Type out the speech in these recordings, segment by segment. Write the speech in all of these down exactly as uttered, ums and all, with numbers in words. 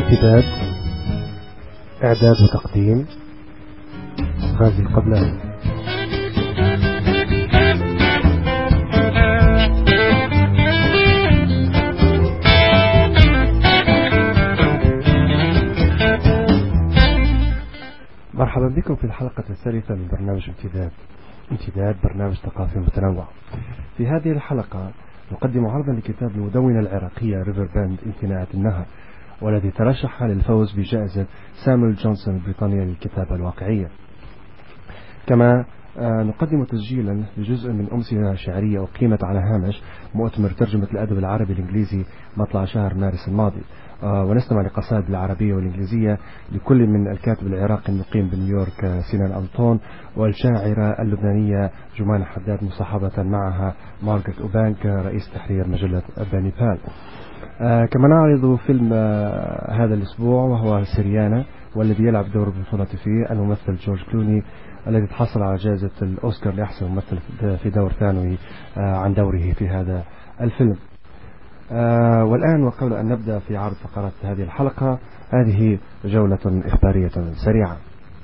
امتداد، إعداد وتقديم غازي القبلاني. مرحبا بكم في الحلقة الثالثة من برنامج امتداد. امتداد برنامج ثقافي متنوع. في هذه الحلقة نقدم عرضا لكتاب المدونة العراقية ريفر باند امتناعة النهر، والذي ترشح للفوز بجائزة سامويل جونسون البريطانية للكتابة الواقعية. كما نقدم تسجيلا لجزء من أمسية شعرية أقيمت على هامش مؤتمر ترجمة الأدب العربي الإنجليزي مطلع شهر مارس الماضي، ونستمع لقصائد العربية والإنجليزية لكل من الكاتب العراقي المقيم بنيويورك سينان أنطون والشاعرة اللبنانية جمانة حداد، مصاحبة معها مارغريت أوبانك رئيس تحرير مجلة بانيبال. آه كما نعرض فيلم آه هذا الأسبوع وهو سيريانا، والذي يلعب دور البطولة فيه الممثل جورج كلوني الذي تحصل على جائزة الأوسكار لأحسن ممثل في دور ثانوي آه عن دوره في هذا الفيلم. آه والآن وقبل أن نبدأ في عرض فقرات هذه الحلقة، هذه جولة إخبارية سريعة.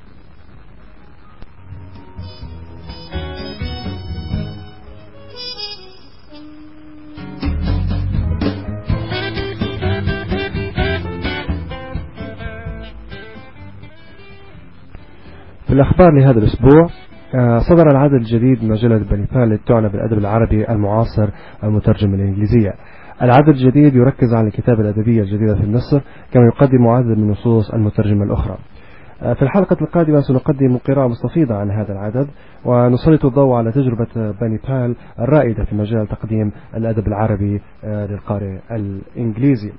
في الأخبار لهذا الأسبوع، صدر العدد الجديد من مجلة بانيبال التي تعنى بالأدب العربي المعاصر المترجم الإنجليزية. العدد الجديد يركز على الكتابة الأدبية الجديدة في مصر، كما يقدم عدد من نصوص المترجمة الأخرى. في الحلقة القادمة سنقدم قراءة مستفيضة عن هذا العدد، ونسلط الضوء على تجربة بانيبال الرائدة في مجال تقديم الأدب العربي للقارئ الإنجليزي.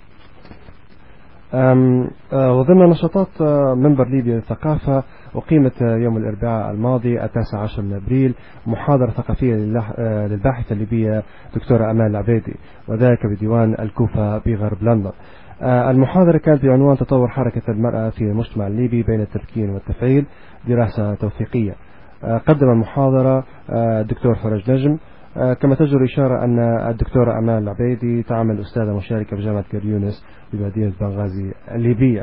وضمن نشاطات منبر ليبيا للثقافة، أقيمت يوم الأربعاء الماضي التاسع عشر من أبريل محاضرة ثقافية للباحثة الليبية دكتورة أمال العبيدي، وذلك بديوان الكوفة بغرب لندن. المحاضرة كانت بعنوان تطور حركة المرأة في المجتمع الليبي بين التمكين والتفعيل، دراسة توثيقية. قدم المحاضرة الدكتور فرج نجم. كما تجدر إشارة أن الدكتورة أمال العبيدي تعمل أستاذة مشاركة بجامعة كريونس بمدينة بنغازي الليبية.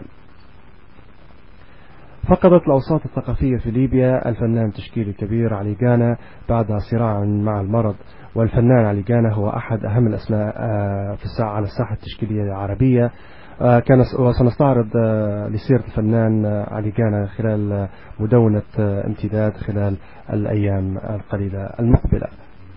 فقدت الأوساط الثقافية في ليبيا الفنان التشكيلي الكبير علي جانا بعد صراع مع المرض، والفنان علي جانا هو أحد أهم الأسماء في الساعة على الساحة التشكيلية العربية. كان وسنستعرض لسيرة الفنان علي جانا خلال مدونة امتداد خلال الأيام القليلة المقبلة.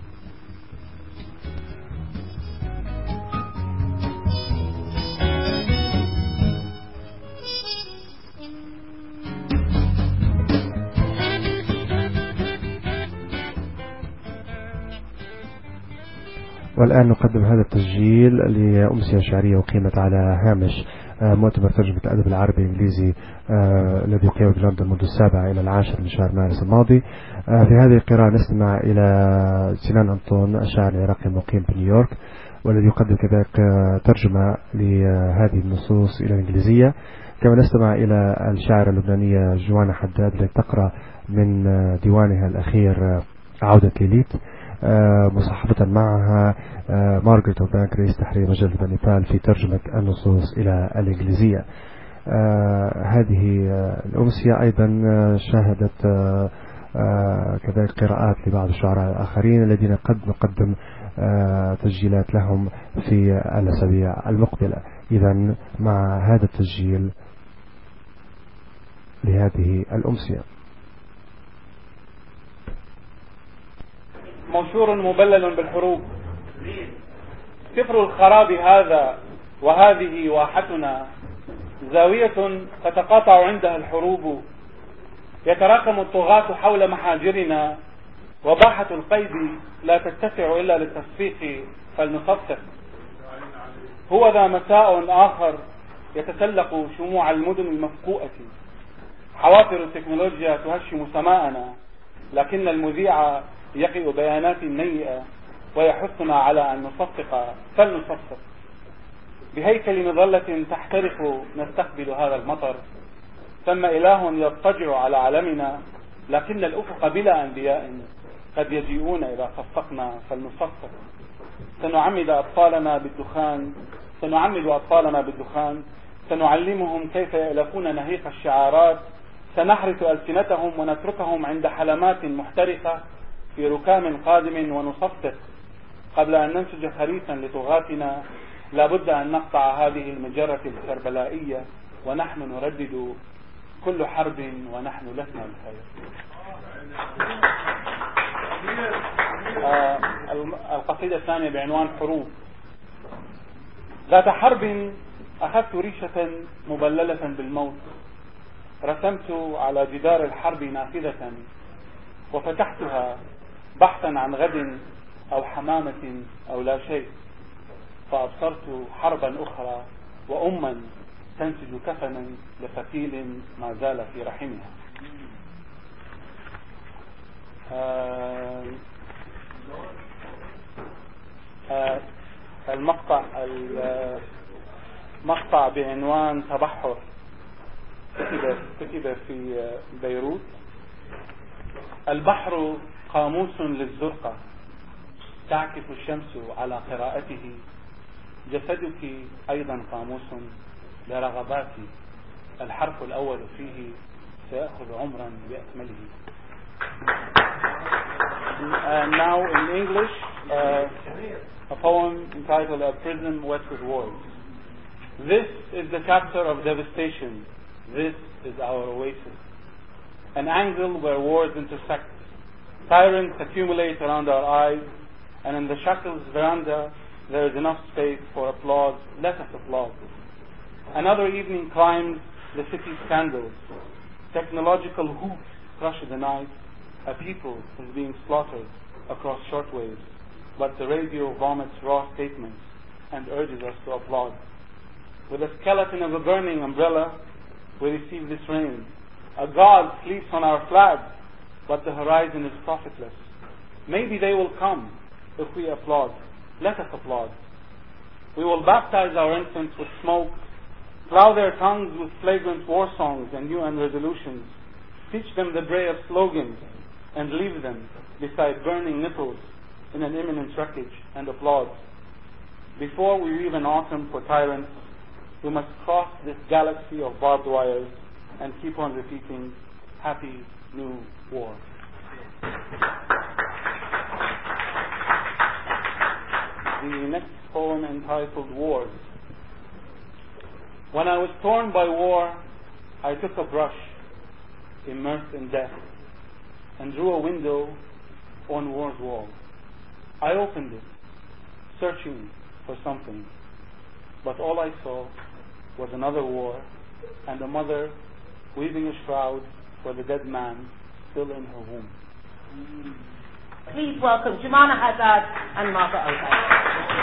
والآن نقدم هذا التسجيل لأمسية شعرية وقيمت على هامش مؤتمر ترجمة الأدب العربي الإنجليزي الذي يقيم في لندن منذ السابع إلى العاشر من شهر مارس الماضي. في هذه القراءة نستمع إلى سينان أنطون الشاعر العراقي المقيم بنيويورك، والذي يقدم كذلك ترجمة لهذه النصوص إلى الإنجليزية. كما نستمع إلى الشاعرة اللبنانية جمانة حداد التي تقرأ من ديوانها الأخير عودة ليليت، مصاحبة معها مارغريت أوبانك رئيس تحرير مجلة بانيبال في ترجمة النصوص إلى الإنجليزية. هذه الأمسية أيضا شاهدت كذلك قراءات لبعض الشعراء الآخرين الذين قد نقدم تسجيلات لهم في الأسابيع المقبلة. إذن مع هذا التسجيل لهذه الأمسية. منشور مبلل بالحروب. سفر الخراب هذا وهذه واحتنا، زاوية تتقاطع عندها الحروب، يتراكم الطغاة حول محاجرنا، وباحة القيد لا تتسع إلا للتصفيق فلنصفق. هو ذا مساء آخر يتسلق شموع المدن المفقوءة، حوافر التكنولوجيا تهشم سماءنا، لكن المذيع يقئ بيانات نيئة ويحثنا على أن نصفق فلنصفق. بهيكل مظلة تحترق نستقبل هذا المطر، ثم إله يضطجع على علمنا، لكن الأفق بلا أنبياء قد يجيئون إذا صفقنا فلنصفق. سنعمد أطفالنا بالدخان سنعمد أطفالنا بالدخان سنعلمهم كيف يألفون نهيق الشعارات، سنحرث ألسنتهم ونتركهم عند حلمات محترقة في ركام قادم ونصفق قبل أن ننسج خريفا لطغاتنا. لابد أن نقطع هذه المجرة الكربلائية ونحن نردد كل حرب ونحن لسنا الخير. آه القصيدة الثانية بعنوان حروب. ذات حرب أخذت ريشة مبللة بالموت، رسمت على جدار الحرب نافذة وفتحتها بحثا عن غد أو حمامة أو لا شيء، فأبصرت حربا أخرى وأما تنسج كفنا لقتيل ما زال في رحمها. آه آه المقطع المقطع بعنوان تبحر كتب كتب في بيروت. البحر قاموس للزرقة تعكف الشمس على قراءته، جسدك أيضا قاموس لرغباتي، الحرف الأول فيه سيأخذ عمرا بأكمله. Uh, now in English, uh, a poem entitled A Prison Wet with Wars. This is the chapter of devastation. This is our oasis. An angle where wars intersect. Tyrants accumulate around our eyes, and in the shackles veranda there is enough space for applause. Let us applaud. Another evening climbs the city scandals. Technological hoops crush the night. A people is being slaughtered across shortwaves, but the radio vomits raw statements and urges us to applaud. With the skeleton of a burning umbrella, we receive this rain. A god sleeps on our flag, but the horizon is profitless. Maybe they will come if we applaud. Let us applaud. We will baptize our infants with smoke, plow their tongues with flagrant war songs and U N resolutions, teach them the bray of slogans, and leave them beside burning nipples in an imminent wreckage and applaud. Before we leave an autumn for tyrants, we must cross this galaxy of barbed wires and keep on repeating, Happy New War. The next poem entitled Wars. When I was torn by war, I took a brush, immersed in death, and drew a window on war's wall. I opened it, searching for something, but all I saw was another war and a mother weaving a shroud for the dead man still in her womb. Please welcome Jumana Haddad and Margaret Oakes.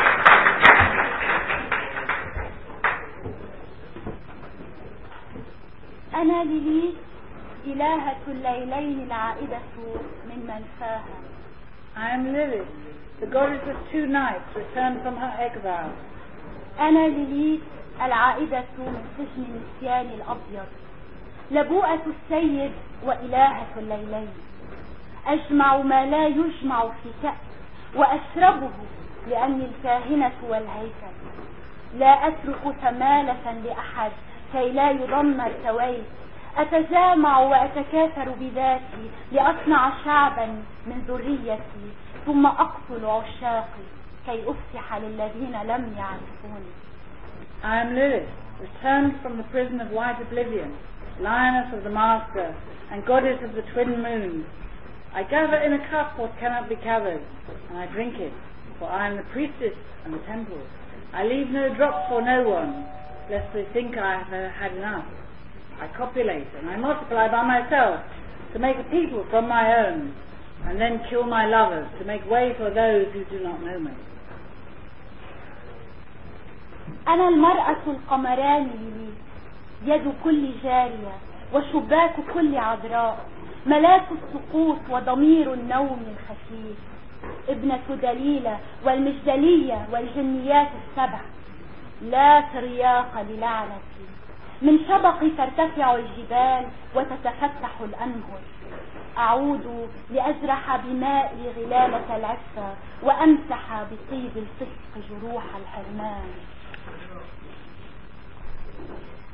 أنا ليليت إلهة الليلين العائدة من منفاها. I am Lilith, the goddess of two nights returned from her exile. أنا ليليت العائدة من سجن النسيان الأبيض، لبوءة السيد وإلهة الليلين. أجمع ما لا يجمع في كأس وأشربه لأني الكاهنة والهيكل. لا أترك ثمالة لأحد كي لا يدمر سويت. أتجامع وأتكاثر بذاتي لأصنع شعبا من ذريتي، ثم أقتل عشاقي كي أفسح للذين لم يعرفوني. I am Lilith, returned from the prison of white oblivion, lioness of the master and goddess of the twin moons. I gather in a cup what cannot be gathered, and I drink it, for I am the priestess and the temple. I leave no drop for no one, lest they think I have had enough. I copulate and I multiply by myself to make a people from my own, and then kill my lovers to make way for those who do not know me. أنا المرأة القمران لي، يد كل جارية وشباك كل عذراء، ملاك السقوط وضمير النوم الخفيف، ابنة دليلة والمجدلية والجنيات السبع. لا ترياق للعنتي، من شبقي ترتفع الجبال وتتفتح الأنهر. أعود لأجرح بمائي غلالة العفة وأمسح بطيب الفسق جروح الحرمان.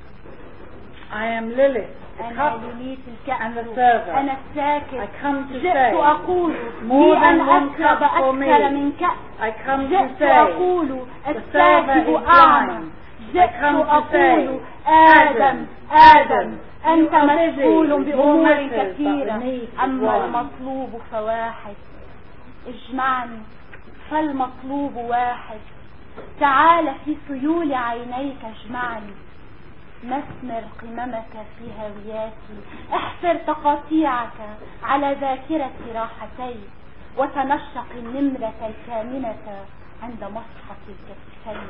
I am Lilith, the أنا cup ليليت and the الكأس server. أنا الساكت I come to جئت say, أقول more لي than أن one أشرب cup for me. أكثر من كأس I come to جئت say, أقول the server الساكب is أعمى blind. I جئت come to أقول say, آدم آدم أنت you are busy مشغول with your بأمور matters, but the كثيرة need is أما one. المطلوب فواحد اجمعني فالمطلوب واحد تعال في سيول عينيك اجمعني مسمر قممك في هوياتي احفر تقاطيعك على ذاكرة راحتي وتنشق النمرة الكامنة عند مسحة الكتفين.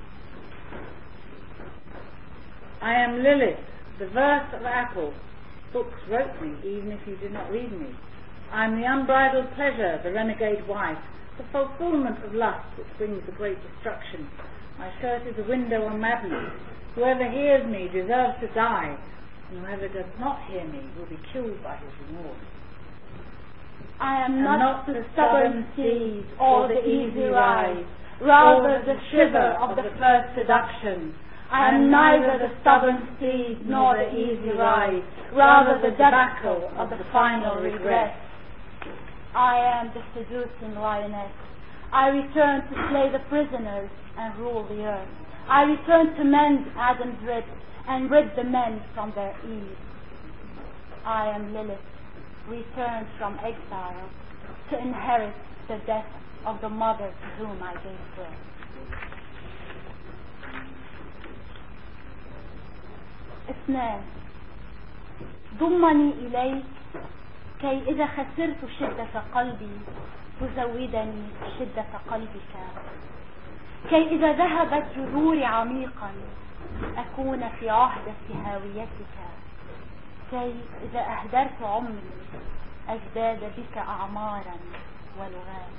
I am Lilith, the verse of Apple. Books wrote me, even if you did not read me. I am the unbridled pleasure, the renegade wife, the fulfillment of lust which brings the great destruction. My shirt is a window on madness. Whoever hears me deserves to die, and whoever does not hear me will be killed by his remorse. I am And not, not the the stubborn stubborn steed steed or the easy ride, rather the shiver of the first seduction. I am neither the stubborn steed nor the easy ride, rather the debacle of the final regret. I am the seducing lioness. I return to slay the prisoners and rule the earth. I return to mend Adam's ribs and rid the men from their ease. I am Lilith, returned from exile to inherit the death of the mother to whom I gave birth. اثنان ضمني إليك كي إذا خسرت شدة قلبي تزودني شدة قلبك كي إذا ذهبت جذوري عميقا أكون في عهدة هاويتك كي إذا أهدرت عمري أزداد بك أعمارا ولغات.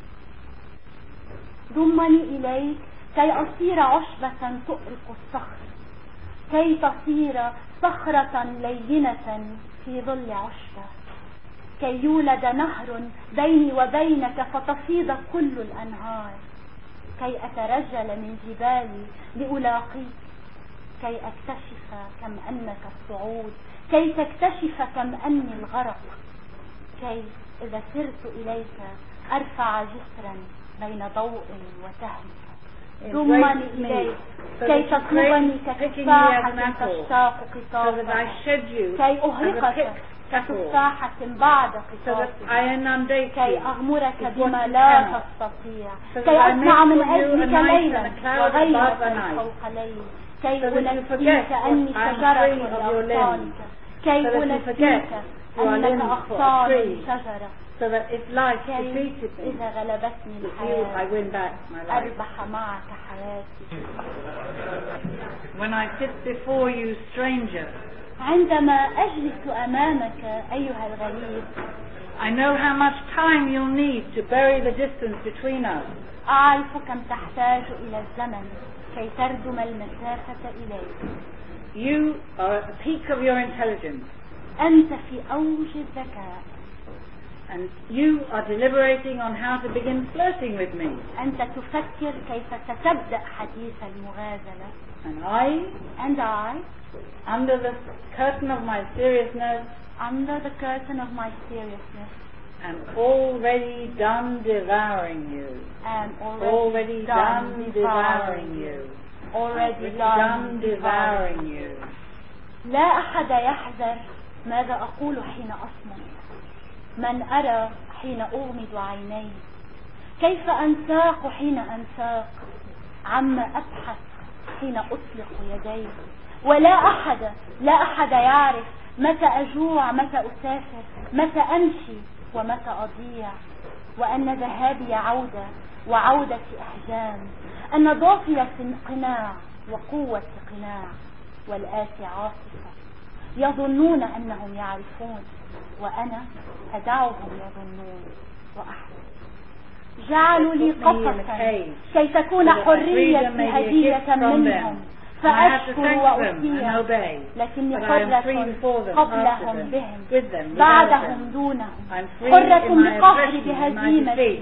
ضمني إليك كي أصير عشبة تؤرق الصخر كي تصير صخرة لينة في ظل عشبة كي يولد نهر بيني وبينك فتفيض كل الأنهار كي أترجل من جبالي لألاقيك كي أكتشف كم أنك الصعود كي تكتشف كم أني الغرق كي إذا سرت إليك أرفع جسرا بين ضوء وتهمك. ضمني إليك كي تطلبني كتفاحة تشتاق قطافها كي أهرقك كتفاحة بعد قطافها كي أغمرك بما لا تستطيع كي أصنع من أجلك ليلا وغيرة فوق ليل كي أنسيك أني شجرة لأغصانك كي أنسيك أنك أغصان شجرة so that if life defeated me, إذا غلبتني you, I win back my life. أربح معك حياتي. When I sit before you, stranger, عندما أجلس أمامك أيها الغريب I know how much time you'll need to bury the distance between us. أعرف كم تحتاج إلى الزمن كي تردم المسافة إليك. You are at the peak of your intelligence. أنت في أوج الذكاء. And you are deliberating on how to begin flirting with me. أنت تفكر كيف ستبدأ حديث المغازلة. And I, and I, under the curtain of my seriousness, under the curtain of my seriousness, am already done devouring you. Am already, already done, done devouring you. Already done, done devouring you. لا أحد يحذر ماذا أقول حين أصمت. من أرى حين أغمض عيني كيف أنساق حين أنساق عما أبحث حين أطلق يدي ولا أحد لا أحد يعرف متى أجوع متى أسافر متى أمشي ومتى أضيع وأن ذهابي عودة وعودتي أحجام أن ضافية قناع وقوة قناع والآتي عاصفة يظنون أنهم يعرفون وأنا أدعوهم يظنون وأحسن. جعلوا لي قفصا كي تكون حريتي هدية منهم فأشكر وأطيع لكني حرة قبلهم بهم بعدهم دونهم حرة بقهري بهزيمتي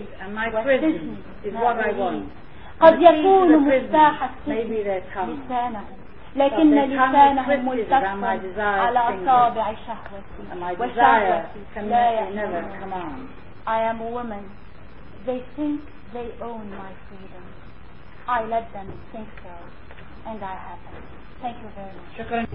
والسجن قد يكون مفتاح السجن لسانهم لكن لسانه ملتف على أصابع شهوتي وشهوتي لا يأمن. I am a woman. They think they own my freedom. I let them think so, and I haven't. Thank you very much. شكرا.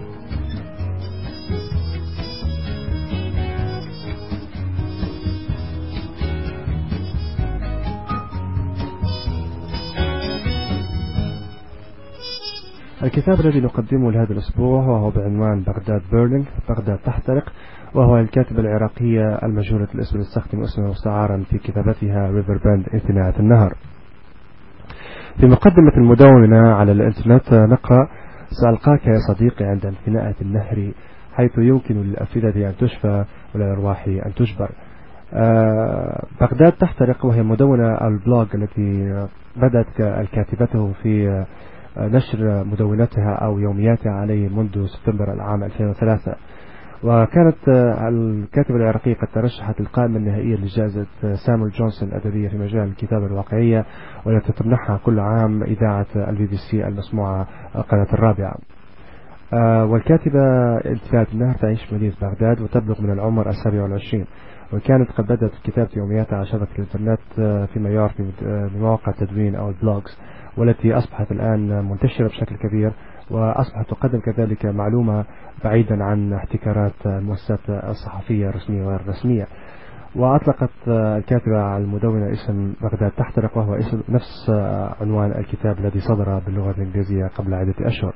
الكتاب الذي نقدمه لهذا الأسبوع وهو بعنوان بغداد بيرنينج، بغداد تحترق، وهو الكاتبة العراقية المجهولة الاسم تستخدم اسمه مستعارا في كتابتها ريفر باند انتناء النهر. في مقدمة المدونة على الانترنت نقرأ: سألقاك يا صديقي عند انتناء النهر، حيث يمكن للأفئدة أن تشفى وللأرواح أن تجبر. آه بغداد تحترق، وهي مدونة البلوج التي بدأت الكاتبته في نشر مدونتها أو يومياتها عليه منذ سبتمبر العام ألفين وثلاثة، وكانت الكاتبة العراقية قد ترشحت للقائمة النهائية لجائزة سامويل جونسون الأدبية في مجال الكتابة الواقعية، والتي تمنحها كل عام إذاعة البي بي سي المسموعة القناة الرابعة. والكاتبة انتناء النهر تعيش في مدينة بغداد وتبلغ من العمر السابع والعشرين، وكانت قد بدأت كتابة يومياتها على شبكة الإنترنت فيما يعرف بمواقع التدوين أو البلوجز، والتي أصبحت الآن منتشرة بشكل كبير، وأصبحت تقدم كذلك معلومة بعيدا عن احتكارات المؤسسات الصحفية الرسمية وغير الرسمية. وأطلقت الكاتبة على المدونة اسم بغداد تحترق، وهو اسم نفس عنوان الكتاب الذي صدر باللغة الإنجليزية قبل عدة أشهر.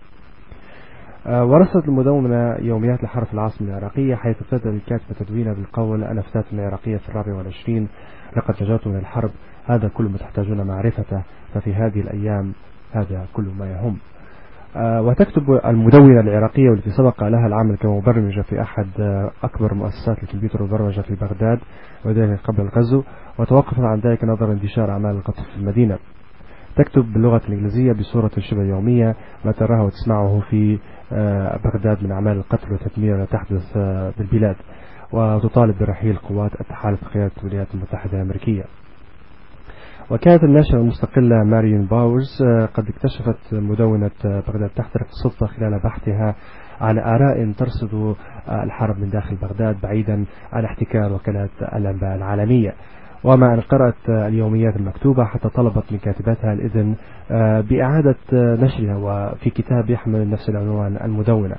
ورصدت المدونة يوميات لحرف العاصمة العراقية، حيث ابتدأ الكاتبة تدوينها بالقول: أنا فتاة عراقية في الرابع والعشرين، لقد نجوت من الحرب، هذا كل ما تحتاجون معرفته، ففي هذه الأيام هذا كل ما يهم. آه وتكتب المدونة العراقية والتي سبق لها العمل كمبرمجة في أحد آه أكبر مؤسسات الكمبيوتر والبرمجة في بغداد، وذلك قبل الغزو، وتوقف عن ذلك نظرا انتشار أعمال القتل في المدينة. تكتب باللغة الإنجليزية بصورة شبه يومية ما تراه وتسمعه في آه بغداد من أعمال القتل والتدمير التي تحدث آه بالبلاد، وتطالب برحيل قوات التحالف بقيادة الولايات المتحدة الأمريكية. وكانت الناشرة المستقلة ماريون باورز قد اكتشفت مدونة بغداد تحترق بالصدفة خلال بحثها عن آراء ترصد الحرب من داخل بغداد بعيدا عن احتكار وكالات الأنباء العالمية، ومع أن قرأت اليوميات المكتوبة حتى طلبت من كاتبتها الإذن بإعادة نشرها وفي كتاب يحمل نفس العنوان المدونة.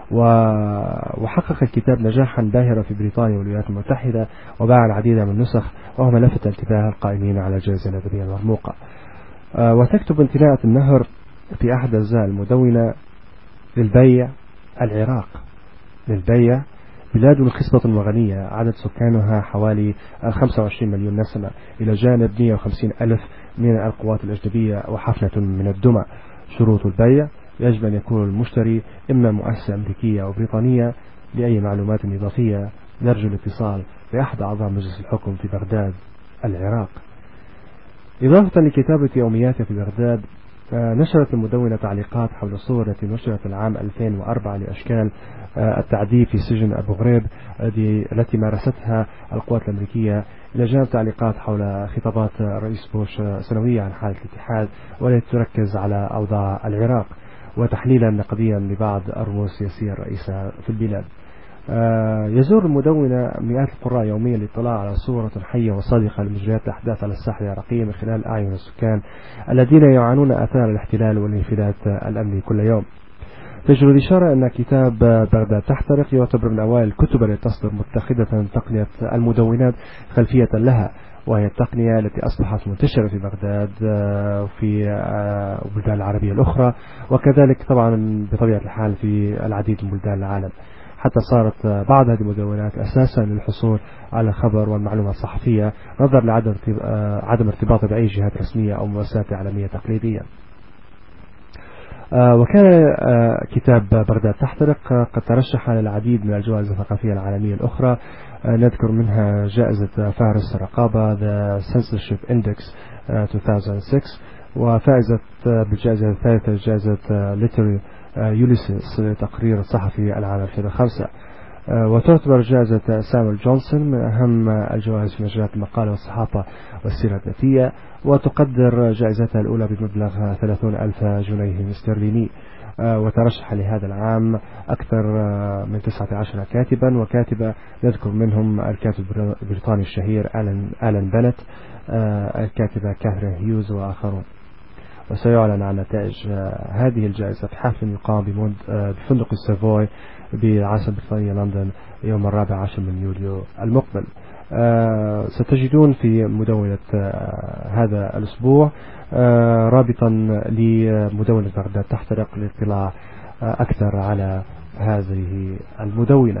وحقق الكتاب نجاحا باهرا في بريطانيا والولايات المتحدة، وباع العديد من النسخ، وهو ما لفت انتباه القائمين على الجائزة الأدبية المرموقة. وتكتب انتناء النهر في أحد أجزاء المدونة: للبيع العراق، للبيع بلاد خصبة وغنية عدد سكانها حوالي خمسة وعشرين مليون نسمة، إلى جانب مئة وخمسين ألف من القوات الأجنبية وحفنة من الدمى. شروط البيع: يجب أن يكون المشتري إما مؤسسة أمريكية أو بريطانية. لأي معلومات إضافية نرجو الاتصال بأحد أعضاء مجلس الحكم في بغداد العراق. إضافة لكتابة يومياتها في بغداد، نشرت المدونة تعليقات حول الصور التي نشرت العام ألفين وأربعة لأشكال التعذيب في سجن أبو غريب التي مارستها القوات الأمريكية، إلى جانب تعليقات حول خطابات رئيس بوش سنوية عن حالة الاتحاد والتي تركز على أوضاع العراق، وتحليلا نقديا لبعض الرموز السياسية الرئيسة في البلاد. آه يزور المدونة مئات القراء يوميا للاطلاع على صورة حية وصادقة لمجريات الأحداث على الساحة العراقية من خلال أعين السكان الذين يعانون آثار الاحتلال والانفلات الأمني كل يوم. تجري الإشارة أن كتاب بغداد تحترق يعتبر من أوائل الكتب التي تصدر متخذة تقنية المدونات خلفية لها، وهي التقنية التي أصبحت منتشرة في بغداد وفي البلدان العربية الأخرى، وكذلك طبعا بطبيعة الحال في العديد من بلدان العالم، حتى صارت بعض هذه المدونات أساسا للحصول على الخبر والمعلومات الصحفية نظرا لعدم عدم ارتباطها بأي جهات رسمية أو مؤسسات إعلامية تقليدية. وكان كتاب بغداد تحترق قد ترشح للعديد من الجوائز الثقافية العالمية الأخرى، نذكر منها جائزة فارس الرقابة The Censorship Index ألفين وستة، وفائزة بالجائزة الثالثة جائزة Literary Ulysses لتقرير الصحفي العام ألفين وخمسة. وتعتبر جائزة سامويل جونسون من أهم الجوائز في مجالات المقالة والصحافة والسيرة الذاتية، وتقدر جائزتها الأولى بمبلغ ثلاثين ألف جنيه استرليني. وترشح لهذا العام أكثر من تسعة عشر كاتبا وكاتبة، نذكر منهم الكاتب البريطاني الشهير آلان, آلان بنت، الكاتبة كاثرين هيوز وآخرون. وسيعلن عن نتائج هذه الجائزة في حفل يقام بفندق السافوي بالعاصمة البريطانية لندن يوم الرابع عشر من يوليو المقبل. ستجدون في مدونة هذا الأسبوع رابطا لمدونة بغداد تحترق للاطلاع أكثر على هذه المدونة.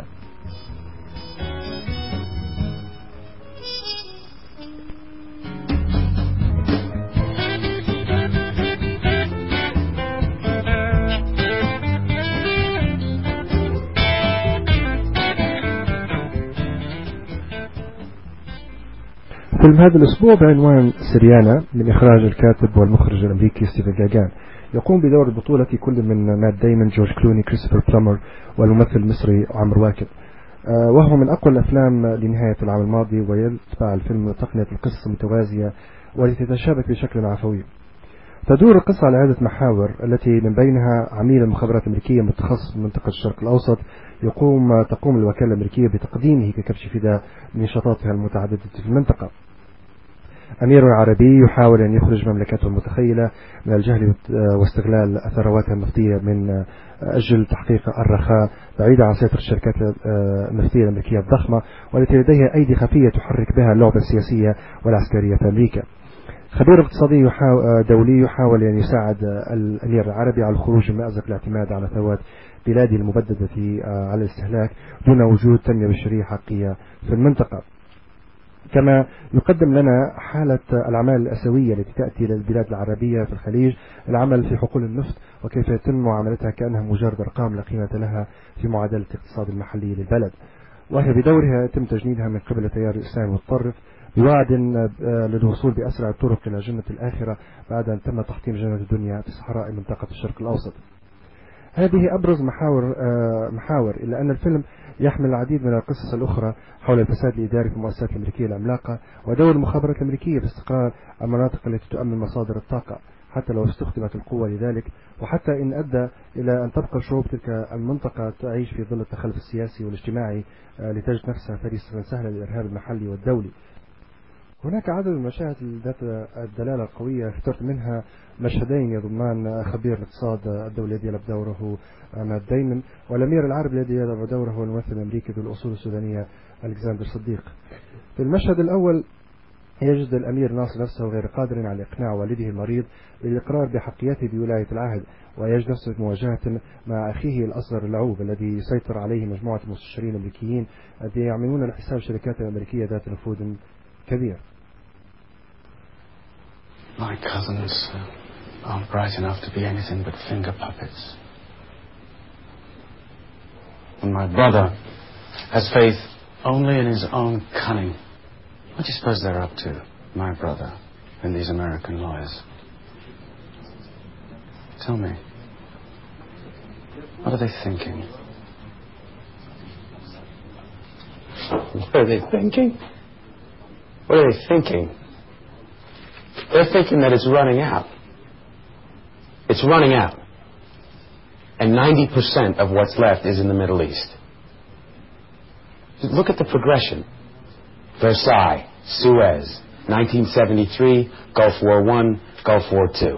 فيلم هذا الأسبوع بعنوان سريانا من إخراج الكاتب والمخرج الأمريكي ستيفن جاغان، يقوم بدور البطولة كل من مات دايمون، جورج كلوني، كريستوفر بلومر والممثل المصري عمرو واكد، وهو من أقوى الأفلام لنهاية العام الماضي، ويتبع الفيلم تقنية القصة المتوازية والتي تتشابك بشكل عفوي. تدور القصة على عدة محاور التي من بينها عميل المخابرات الأمريكية متخصص في منطقة الشرق الأوسط يقوم تقوم الوكالة الأمريكية بتقديمه ككبش فداء لنشاطاتها المتعددة في المنطقة. أمير عربي يحاول أن يخرج مملكته المتخيلة من الجهل واستغلال ثرواتها النفطية من أجل تحقيق الرخاء بعيدا عن سيطرة الشركات النفطية الأمريكية الضخمة والتي لديها أيدي خفية تحرك بها اللعبة السياسية والعسكرية في أمريكا. خبير اقتصادي دولي يحاول أن يساعد الأمير العربي على الخروج من مأزق الاعتماد على ثروات بلاده المبددة على الاستهلاك دون وجود تنمية بشرية حقيقية في المنطقة. كما يقدم لنا حالة الأعمال الأسوية التي تأتي للبلاد العربية في الخليج العمل في حقول النفط وكيف يتم معاملتها كأنها مجرد أرقام لا قيمة لها في معادلة الاقتصاد المحلي للبلد، وهي بدورها يتم تجنيدها من قبل التيار الإسلامي المتطرف بوعد للوصول بأسرع الطرق إلى جنة الآخرة بعد أن تم تحطيم جنة الدنيا في صحراء منطقة الشرق الأوسط. هذه أبرز محاور محاور إلا أن الفيلم يحمل العديد من القصص الأخرى حول الفساد الإداري في المؤسسات الأمريكية العملاقة ودور المخابرات الأمريكية في استقرار المناطق التي تؤمن مصادر الطاقة حتى لو استخدمت القوة لذلك، وحتى إن أدى إلى أن تبقى شعوب تلك المنطقة تعيش في ظل التخلف السياسي والاجتماعي لتجد نفسها فريسة سهلة للإرهاب المحلي والدولي. هناك عدد من المشاهد ذات الدلالة القوية، اخترت منها مشهدين يضمان خبير الاقتصاد الدولي الذي يلعب دوره مات دايمون والأمير العربي الذي يلعب دوره الممثل الأمريكي ذو الأصول السودانية ألكسندر صديق. في المشهد الأول يجد الأمير ناصر نفسه غير قادر على إقناع والده المريض بالإقرار بحقيته بولاية العهد، ويجد نفسه في مواجهة مع أخيه الأصغر اللعوب الذي يسيطر عليه مجموعة المستشارين الأمريكيين الذين يعملون لحساب الشركات الأمريكية ذات نفوذ كبير. My cousins aren't bright enough to be anything but finger puppets. And my brother has faith only in his own cunning. What do you suppose they're up to, my brother and these American lawyers? Tell me, what are they thinking? What are they thinking? What are they thinking? They're thinking that it's running out. It's running out. And ninety percent of what's left is in the Middle East. Look at the progression. Versailles, Suez, nineteen seventy-three, Gulf War One, Gulf War Two.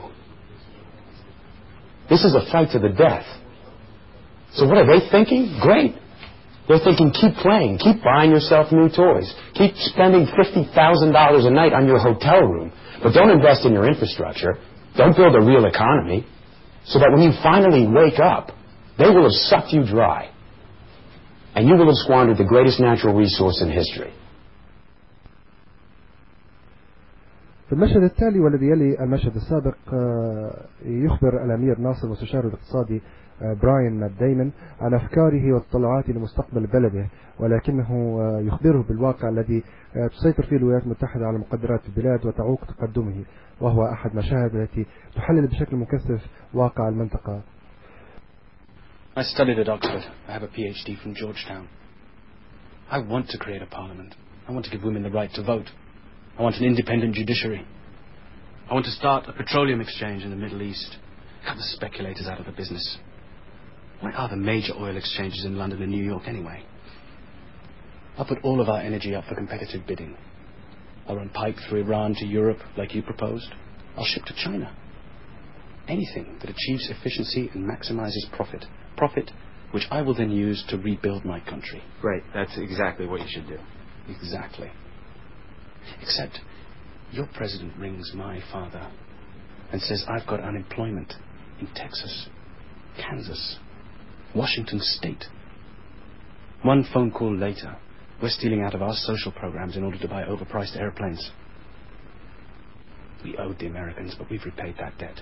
This is a fight to the death. So what are they thinking? Great. They're thinking, keep playing, keep buying yourself new toys, keep spending fifty thousand dollars a night on your hotel room, but don't invest in your infrastructure, don't build a real economy, so that when you finally wake up, they will have sucked you dry, and you will have squandered the greatest natural resource in history. في المشهد التالي والذي يلي المشهد السابق يخبر الأمير ناصر مستشاره الاقتصادي براين مات دايمون عن أفكاره وتطلعاته لمستقبل بلده، ولكنه يخبره بالواقع الذي تسيطر فيه الولايات المتحدة على مقدرات البلاد وتعوق تقدمه، وهو أحد مشاهد التي تحلل بشكل مكثف واقع المنطقة. I studied at Oxford. I have a P H D from Georgetown. I want to create a parliament. I want to give women the right to vote. I want an independent judiciary. I want to start a petroleum exchange in the Middle East. Cut the speculators out of the business. Why are the major oil exchanges in London and New York anyway? I'll put all of our energy up for competitive bidding. I'll run pipes through Iran to Europe like you proposed. I'll ship to China. Anything that achieves efficiency and maximizes profit. Profit which I will then use to rebuild my country. Great. That's exactly what you should do. Exactly. Except your president rings my father and says I've got unemployment in Texas, Kansas, Washington State. One phone call later, we're stealing out of our social programs in order to buy overpriced airplanes. We owed the Americans, but we've repaid that debt.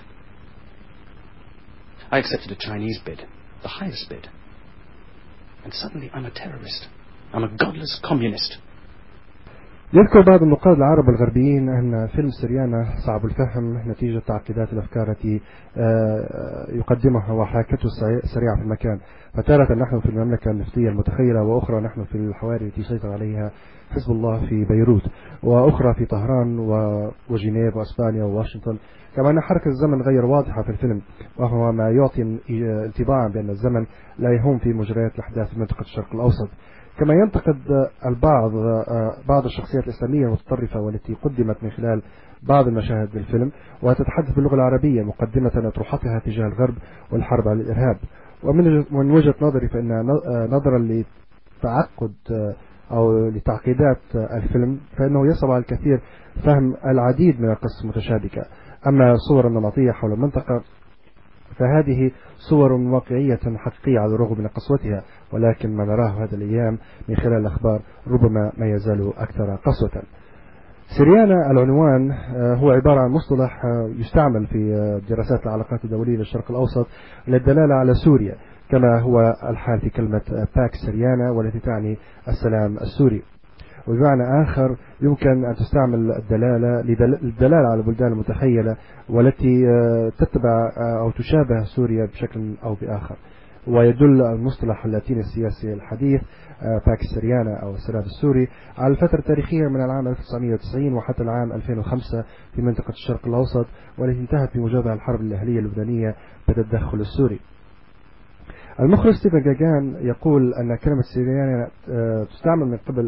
I accepted a Chinese bid, the highest bid. And suddenly I'm a terrorist. I'm a godless communist. يذكر بعض النقاد العرب الغربيين أن فيلم سريانة صعب الفهم نتيجة تعقيدات الأفكار التي يقدمها وحركته سريعة في المكان. فتارة نحن في المملكة النفطية المتخيلة، وأخرى نحن في الحواري التي سيطر عليها حزب الله في بيروت، وأخرى في طهران وجنيف وأسبانيا وواشنطن. كما أن حركة الزمن غير واضحة في الفيلم، وهو ما يعطي انطباعا بأن الزمن لا يهم في مجريات الأحداث في منطقة الشرق الأوسط. كما ينتقد البعض بعض الشخصيات الإسلامية المتطرفة والتي قدمت من خلال بعض المشاهد بالفيلم، وتتحدث باللغة العربية مقدمة أطروحتها تجاه الغرب والحرب على الإرهاب. ومن وجهة نظري فإن نظرا لتعقد أو لتعقيدات الفيلم فإنه يصعب على الكثير فهم العديد من القصص المتشابكة. أما صور النمطية حول المنطقة فهذه صور واقعية حقيقية على الرغم من قسوتها، ولكن ما نراه هذه الأيام من خلال الأخبار ربما ما يزال أكثر قسوة. سريانة العنوان هو عبارة عن مصطلح يستعمل في دراسات العلاقات الدولية للشرق الأوسط للدلالة على سوريا، كما هو الحال في كلمة باكس سريانة والتي تعني السلام السوري. وبمعنى آخر يمكن أن تستعمل الدلالة للدلالة على البلدان المتخيلة والتي تتبع أو تشابه سوريا بشكل أو بآخر. ويدل المصطلح اللاتيني السياسي الحديث باكس سريانة أو السلام السوري على الفترة التاريخية من العام ألف وتسعمئة وتسعين وحتى العام ألفين وخمسة في منطقة الشرق الأوسط، والتي انتهت بموجبها الحرب الأهلية اللبنانية بالتدخل السوري. المخرج ستيفن جاجان يقول أن كلمة سريانة تستعمل من قبل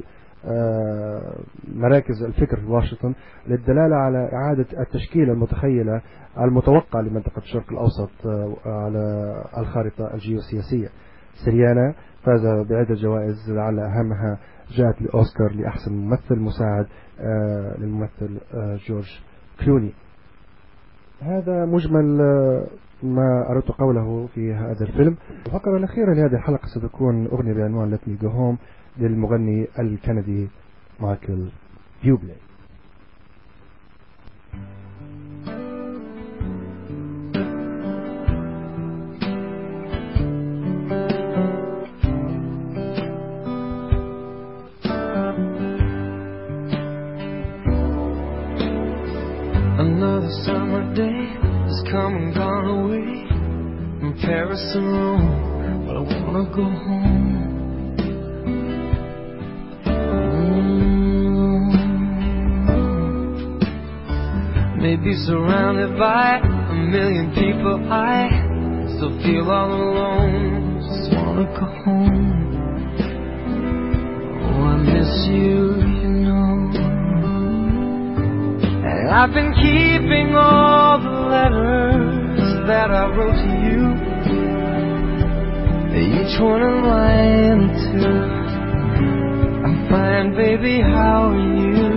مراكز الفكر في واشنطن للدلالة على إعادة التشكيل المتخيلة المتوقع لمنطقة الشرق الأوسط على الخارطة الجيوسياسية. سريانة فاز بعدة جوائز لعل أهمها جاءت لأوسكار لأحسن ممثل مساعد للممثل جورج كلوني. هذا مجمل ما أردت قوله في هذا الفيلم. الفقرة الأخيرة لهذه الحلقة ستكون أغنية بعنوان Let Me Go Home للمغني الكندي مايكل بيوبلي. Another summer day has come and gone away from Paris and Rome, but I wanna go home. Maybe surrounded by a million people, I still feel all alone. Just wanna go home. Oh, I miss you, you know. And I've been keeping all the letters that I wrote to you, each one in line two. I'm fine, baby, how are you?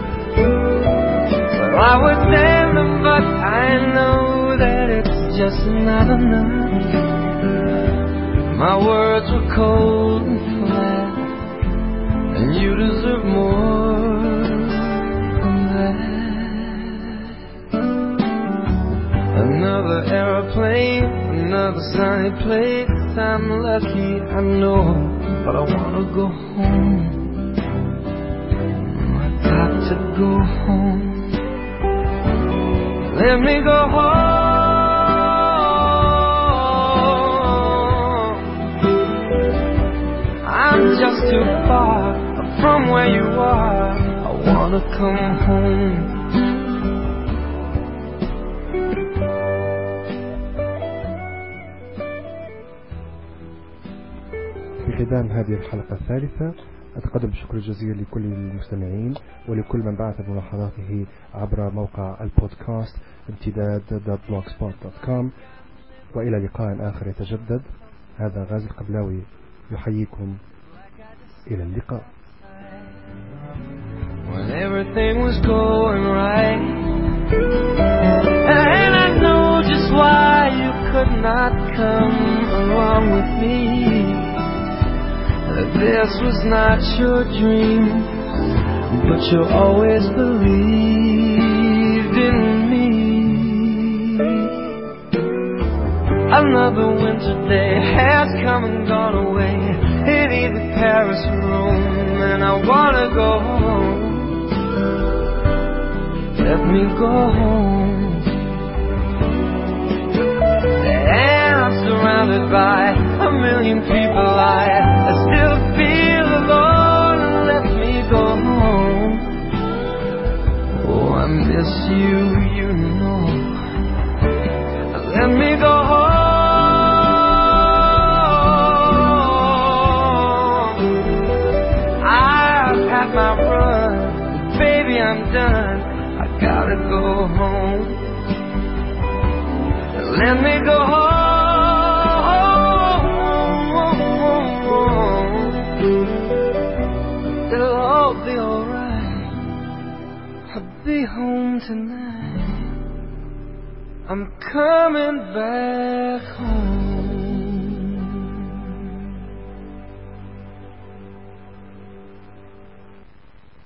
I would send them, but I know that it's just not enough. My words were cold and flat, and you deserve more than that. Another airplane, another sunny place. I'm lucky, I know, but I wanna go home. I got to go home. Let me go home. I'm just too far from where you are. I wanna come home. ختام هذه الحلقة الثالثة أتقدم بالشكر الجزيل لكل المستمعين ولكل من بعث بملاحظاته عبر موقع البودكاست امتداد دوت بلوغسبوت دوت كوم. وإلى لقاء آخر يتجدد. هذا غازي القبلاوي يحييكم. إلى اللقاء. When everything was going right, and I know just why you could not come along with me. This was not your dream, but you always believed in me. Another winter day has come and gone away in either Paris or Rome, and I wanna go home. Let me go home. And I'm surrounded by a million people. I, I still feel alone. Let me go home. Oh, I miss you, you know. Let me go home. I've had my run, baby, I'm done. I gotta go home. Let me go home. It'll all be alright. I'll be home tonight. I'm coming back home.